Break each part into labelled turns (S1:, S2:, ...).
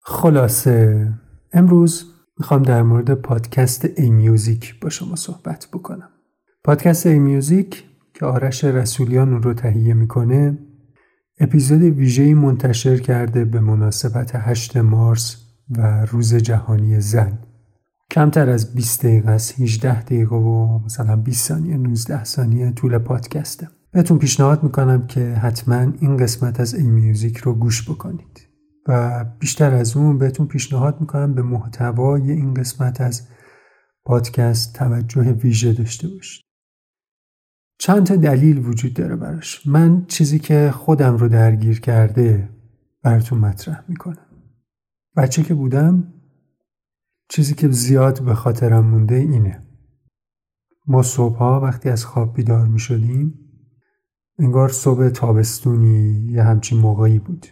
S1: خلاصه امروز میخوام در مورد پادکست ای میوزیک با شما صحبت بکنم. پادکست ای میوزیک که آرش رسولیان اون رو تهیه میکنه اپیزود ویژه‌ای منتشر کرده به مناسبت 8 مارس و روز جهانی زن. کمتر از 20 دقیقه است، 18 دقیقه و مثلا 20 ثانیه 19 ثانیه طول پادکسته. بهتون پیشنهاد میکنم که حتما این قسمت از ای میوزیک رو گوش بکنید و بیشتر از اون بهتون پیشنهاد میکنم به محتوای این قسمت از پادکست توجه ویژه داشته باشید. چند تا دلیل وجود داره براش. من چیزی که خودم رو درگیر کرده براتون مطرح میکنم. بچه که بودم چیزی که زیاد به خاطرم مونده اینه: ما صبحها وقتی از خواب بیدار میشدیم انگار صبح تابستونی یه همچین موقعی بود.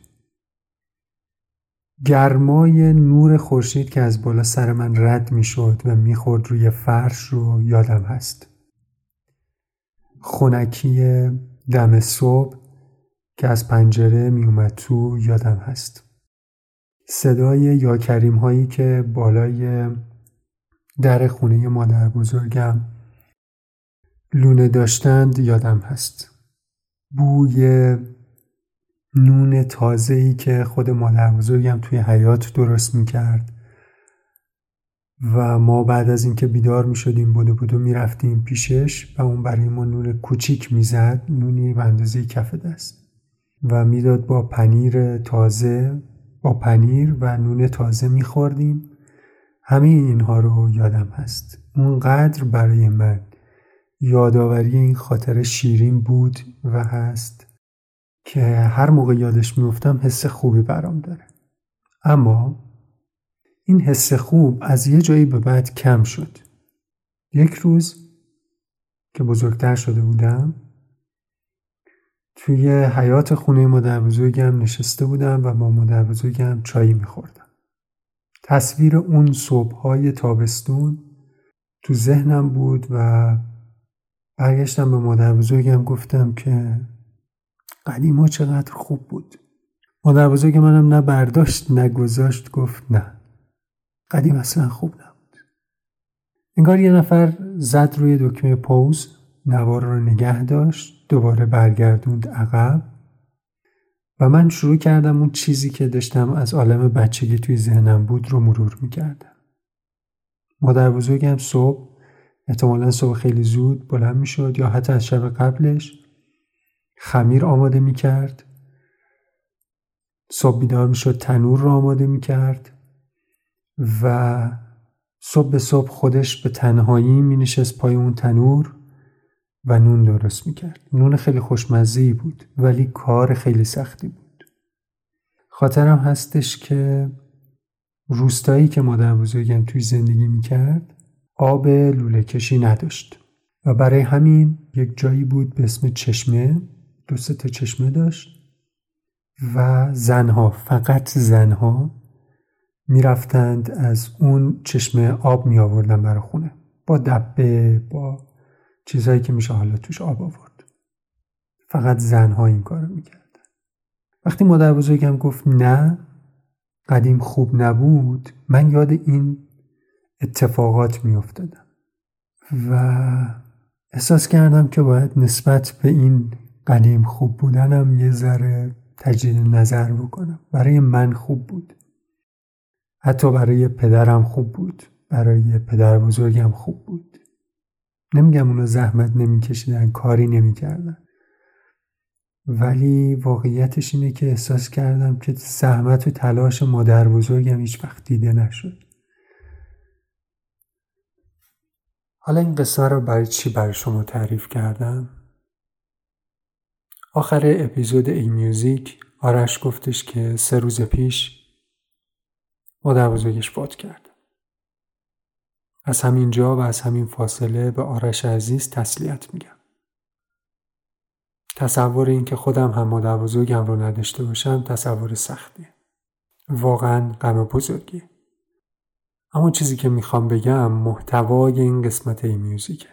S1: گرمای نور خورشید که از بالا سر من رد میشد و میخورد روی فرش رو یادم هست. خنکی دم صبح که از پنجره میومد تو یادم هست. صدای یا کریم هایی که بالای در خونه مادر بزرگم لونه داشتند یادم هست. بوی نون تازه‌ای که خود مادر بزرگم توی حیاط درست میکرد و ما بعد از اینکه بیدار میشدیم بدو میرفتیم پیشش و اون برای ما نون کوچیک میزد، نونی به اندازه کف دست، و میداد با پنیر تازه، با پنیر و نون تازه میخوردیم. همه اینها رو یادم هست. اونقدر برای من یادآوری این خاطره شیرین بود و هست که هر موقع یادش میفتم حس خوبی برام داره. اما این حس خوب از یه جایی به بعد کم شد. یک روز که بزرگتر شده بودم توی حیاط خونه مادر بزرگم نشسته بودم و با مادر بزرگم چایی میخوردم. تصویر اون صبح‌های تابستون تو ذهنم بود و برگشتم به مادر بزرگم گفتم که قدیما چقدر خوب بود. مادر بزرگ منم نه برداشت نه گذاشت، گفت نه، قدیم اصلا خوب نبود. انگار یه نفر زد روی دکمه پوز، نوار رو نگه داشت، دوباره برگردوند عقب و من شروع کردم اون چیزی که داشتم از عالم بچگی توی ذهنم بود رو مرور میکردم. مادر بزرگم صبح، احتمالاً صبح خیلی زود بلند میشد یا حتی از شب قبلش، خمیر آماده میکرد. صبح بیدار میشد تنور رو آماده میکرد و صبح به صبح خودش به تنهایی مینشست پای اون تنور و نون درست میکرد. نون خیلی خوشمزه‌ای بود ولی کار خیلی سختی بود. خاطرم هستش که روستایی که مادر بزرگم توی زندگی میکرد آب لوله کشی نداشت و برای همین یک جایی بود به اسم چشمه، 2-3 تا چشمه داشت و زنها، فقط زنها میرفتند از اون چشمه آب می آوردن برای خونه با دبه، با چیزهایی که میشه حالا توش آب آورد. فقط زنها این کارو میکردن. وقتی مادر بزرگم گفت نه، قدیم خوب نبود، من یاد این اتفاقات می افتادم و احساس کردم که باید نسبت به این قدیم خوب بودنم یه ذره تجدید نظر بکنم. برای من خوب بود، حتی برای پدرم خوب بود، برای پدر بزرگم خوب بود. نمیگم اونا زحمت نمیکشیدن، کاری نمیکردن، ولی واقعیتش اینه که احساس کردم که زحمت و تلاش مادر بزرگم هیچ وقت دیده نشد. حالا این قصه رو برای چی برای شما تعریف کردم؟ آخر اپیزود ای میوزیک آرش گفتش که 3 روز پیش مادر بزرگش فوت کرد. از همین جا و از همین فاصله به آرش عزیز تسلیت میگم. تصور این که خودم هم مادر بزرگم رو نداشته باشم تصور سختیه. واقعا غم بزرگیه. اما چیزی که میخوام بگم محتوای این قسمت ای میوزیکه.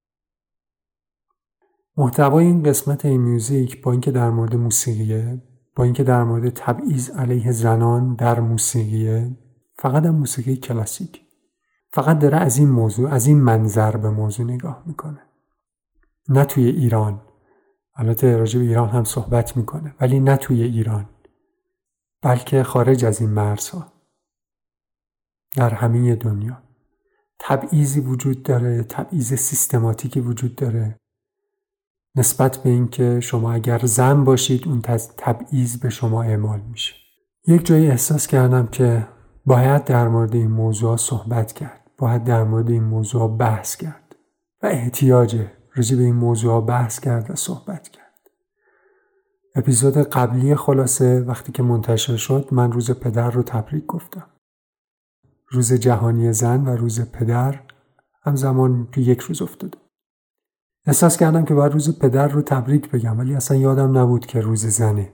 S1: محتوای این قسمت ای میوزیک با اینکه در مورد موسیقیه، با اینکه در مورد تبعیض علیه زنان در موسیقیه، فقط هم موسیقی کلاسیک، فقط داره از این موضوع، از این منظر به موضوع نگاه میکنه. نه توی ایران، البته راجع به ایران هم صحبت میکنه، ولی نه توی ایران، بلکه خارج از این مرزها، در همه دنیا تبعیضی وجود داره، تبعیض سیستماتیکی وجود داره نسبت به این که شما اگر زن باشید اون تبعیض به شما اعمال میشه. یک جایی احساس کردم که باید در مورد این موضوع صحبت کرد، باید در مورد این موضوع بحث کرد و احتیاجه راجع به این موضوع بحث کرد و صحبت کرد. اپیزود قبلی خلاصه وقتی که منتشر شد من روز پدر رو تبریک گفتم. روز جهانی زن و روز پدر همزمان تو یک روز افتاده. احساس کردم که باید روز پدر رو تبریک بگم، ولی اصلا یادم نبود که روز زنه.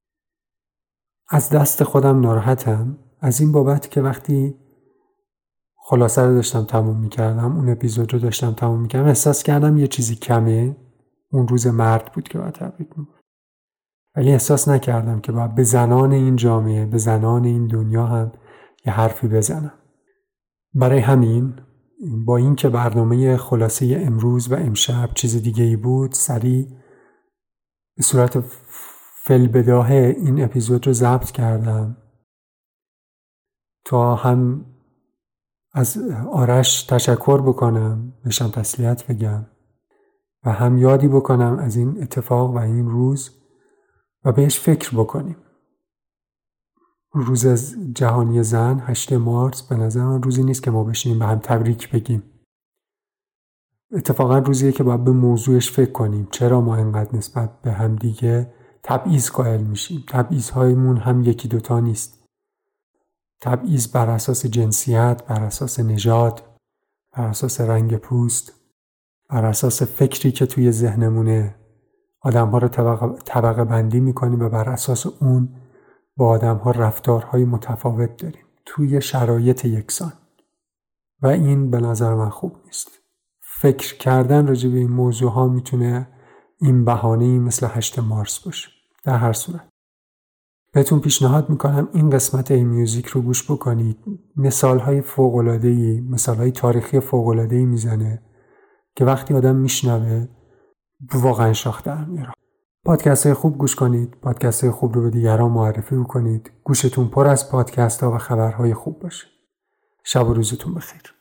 S1: از دست خودم ناراحتم از این بابت که وقتی خلاصه رو داشتم تموم میکردم، اون اپیزود رو داشتم تموم میکردم، احساس کردم یه چیزی کمه. اون روز مرد بود که باید تبریک میگم، ولی احساس نکردم که باید به زنان این جامعه، به زنان این دنیا هم یه حرفی بزنم. برای همین با این که برنامه خلاصه امروز و امشب چیز دیگه ای بود، سریع به صورت فی‌البداهه این اپیزود رو ضبط کردم تا هم از آرش تشکر بکنم، بهشم تسلیت بگم و هم یادی بکنم از این اتفاق و این روز و بهش فکر بکنیم. روز جهانی زن 8 مارس به نظر من روزی نیست که ما بشینیم به هم تبریک بگیم. اتفاقا روزیه که باید به موضوعش فکر کنیم. چرا ما اینقدر نسبت به هم دیگه تبعیض قائل میشیم؟ تبعیض‌هایمون هم یکی دوتا نیست. تبعیض بر اساس جنسیت، بر اساس نژاد، بر اساس رنگ پوست، بر اساس فکری که توی ذهنمونه آدم‌ها رو طبقه بندی می‌کنیم و بر اساس اون با آدم‌ها رفتارهای متفاوت داریم توی شرایط یکسان و این به نظر من خوب نیست. فکر کردن راجع به این موضوع ها میتونه این بهانه‌ای مثل 8 مارس باشه. در هر صورت بهتون پیشنهاد میکنم این قسمت این میوزیک رو گوش بکنید. مثالهای فوق‌العاده‌ای، مثالهای تاریخی فوق‌العاده‌ای میزنه که وقتی آدم میشنوه واقعا شاخ در میاره. پادکست های خوب گوش کنید، پادکست های خوب رو به دیگران معرفی بکنید. گوشتون پر از پادکست ها و خبرهای خوب باشه. شب و روزتون بخیر.